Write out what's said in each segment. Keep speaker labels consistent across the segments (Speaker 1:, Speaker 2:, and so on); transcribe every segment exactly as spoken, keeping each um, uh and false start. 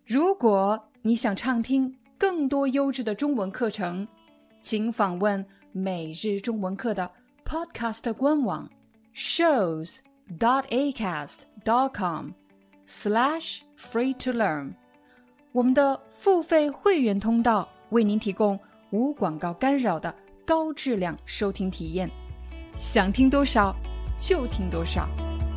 Speaker 1: 如果你想畅听更多优质的中文课程，请访问每日中文课的 Podcast 官网 shows dot acast dot com slash free to learn。 我们的付费会员通道为您提供无广告干扰的高质量收听体验，想听多少就听多少。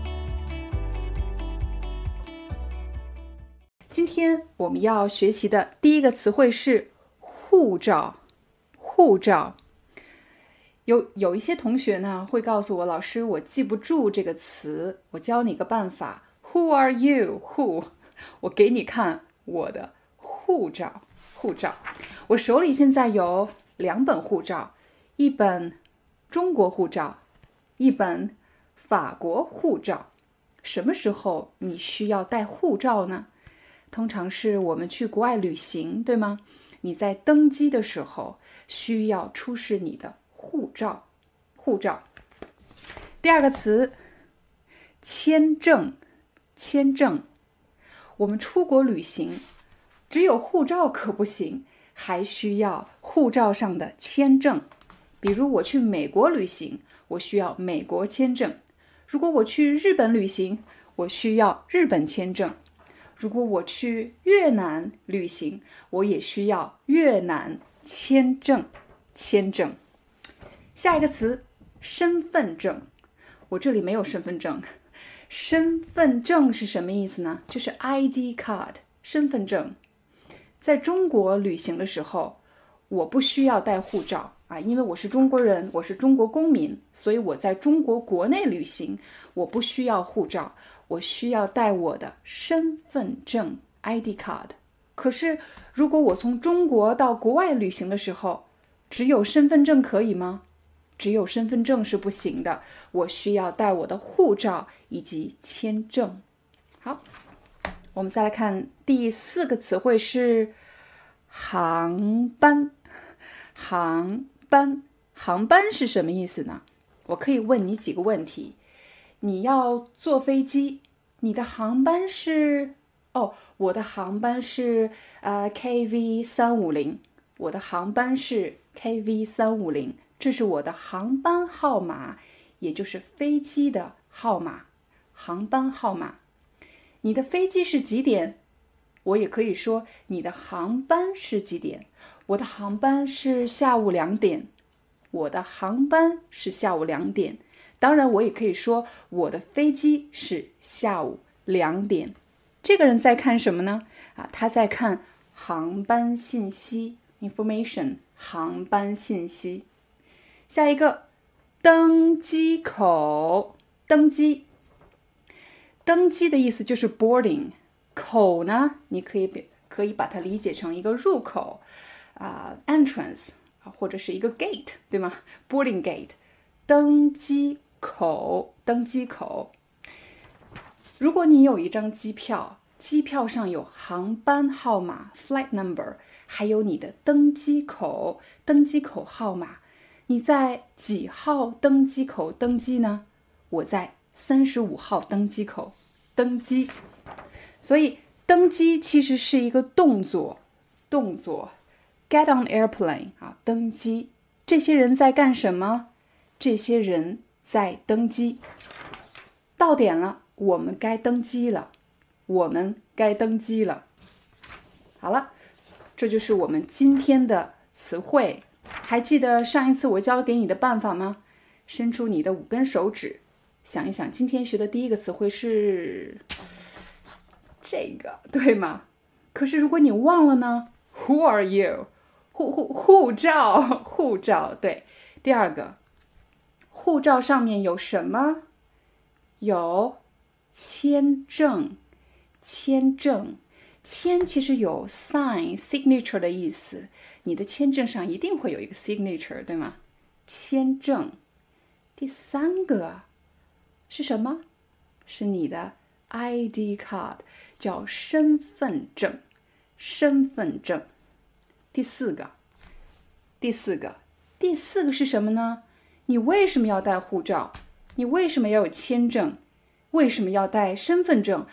Speaker 1: 今天我们要学习的第一个词汇是护照。护照，有有一些同学呢会告诉我，老师，我记不住这个词，我教你个办法。Who are you? Who？ 我给你看我的护照。护照，我手里现在有两本护照，一本中国护照，一本法国护照。什么时候你需要带护照呢？通常是我们去国外旅行，对吗？你在登机的时候需要出示你的护照。护照。第二个词，签证。签证。我们出国旅行，只有护照可不行，还需要护照上的签证。比如我去美国旅行，我需要美国签证。如果我去日本旅行，我需要日本签证。如果我去越南旅行，我也需要越南签证。签证。下一个词，身份证。我这里没有身份证。身份证是什么意思呢？就是 I D card， 身份证。在中国旅行的时候，我不需要带护照啊，因为我是中国人，我是中国公民，所以我在中国国内旅行，我不需要护照，我需要带我的身份证 I D card。 可是如果我从中国到国外旅行的时候，只有身份证可以吗？只有身份证是不行的，我需要带我的护照以及签证。好，我们再来看第四个词汇是航班。航班，航班是什么意思呢？我可以问你几个问题。你要坐飞机，你的航班是，哦，我的航班是呃 K V 三五零， 我的航班是 K V 三五零， 这是我的航班号码，也就是飞机的号码，航班号码。你的飞机是几点？我也可以说你的航班是几点。我的航班是下午两点，我的航班是下午两点。当然我也可以说我的飞机是下午两点。这个人在看什么呢？啊，他在看航班信息 information， 航班信息。下一个，登机口。登机，登机的意思就是 boarding， 口呢，你可以可以把它理解成一个入口啊、uh, ，entrance 或者是一个 gate， 对吗？ boarding gate， 登机口，登机口。如果你有一张机票，机票上有航班号码 flight number， 还有你的登机口，登机口号码，你在几号登机口登机呢？我在三十五号登机口登机。所以登机其实是一个动作，动作 get on airplane 啊，登机。这些人在干什么？这些人在登机。到点了，我们该登机了，我们该登机了。好了，这就是我们今天的词汇。还记得上一次我教给你的办法吗？伸出你的五根手指，想一想今天学的第一个词汇是这个，对吗？可是如果你忘了呢？ Who are you？ 护护护照，护照，对。第二个，护照上面有什么？有签证，签证。签其实有 sign signature 的意思，你的签证上一定会有一个 signature， 对吗？签证。第三个是什么？是你的 I D card， 叫身份证，身份证。第四个，第四个，第四个是什么呢？你为什么要带护照？你为什么要有签证？为什么要带身份证？哦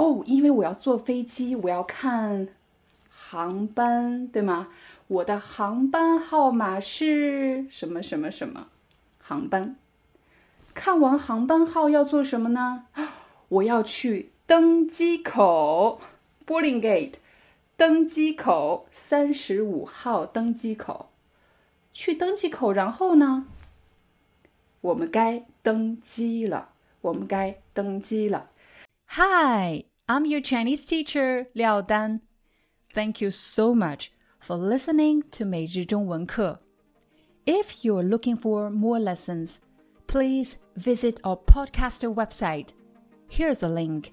Speaker 1: 哦，因为我要坐飞机，我要看航班，对吗？我的航班号码是什么什么什么航班。看完航班号要做什么呢？我要去登机口 boarding gate 登机口三十五号登机口。去登机口，然后呢？我们该登机了，我们该登机了。Hi, I'm your Chinese teacher, Liao Dan. Thank you so much for listening to 每日中文课。If you're looking for more lessons, please visit our podcaster website. Here's a link: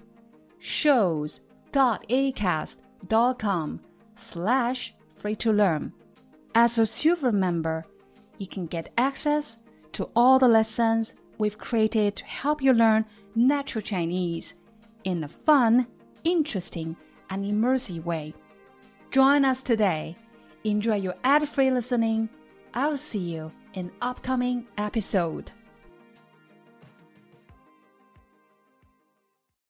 Speaker 1: shows.acast.com slash free to learn. As a silver member, you can get access to all the lessons we've created to help you learn natural Chinese in a fun, interesting, and immersive way. Join us today. Enjoy your ad-free listening. I'll see you in upcoming episode.